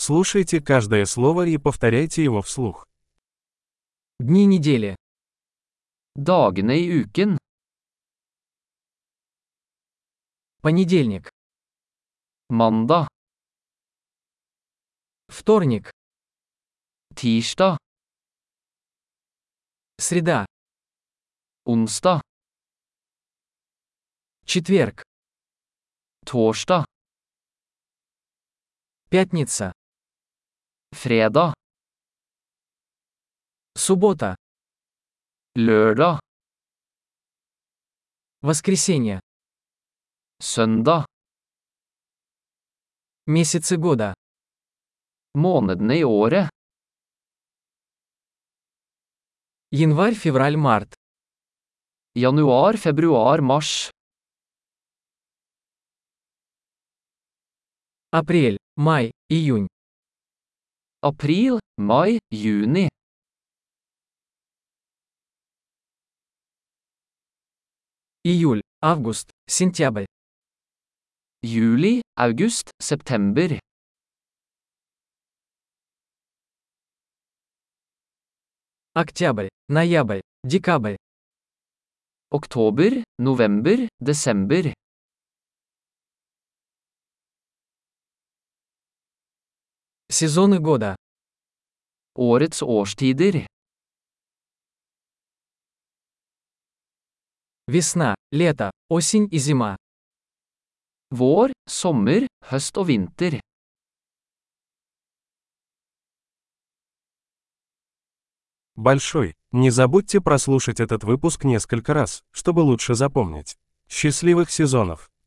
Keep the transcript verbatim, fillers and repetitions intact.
Слушайте каждое слово и повторяйте его вслух. Дни недели. Dagene i uken. Понедельник. Mandag, Вторник. tirsdag, Среда. onsdag, Четверг. torsdag, Пятница. fredag, Суббота. lørdag, Воскресенье. søndag. Месяцы года. Månedene i året. Январь, февраль, март. Januar, februar, mars. Апрель, май, июнь. April, mai, juni. Июль, август, сентябрь. Juli, august, september. Октябрь, ноябрь, декабрь. Oktober, november, desember. Сезоны года. Årets årstider. Весна, лето, осень и зима. Vår, sommer, høst og vinter. Большой. Не забудьте прослушать этот выпуск несколько раз, чтобы лучше запомнить. Счастливых сезонов!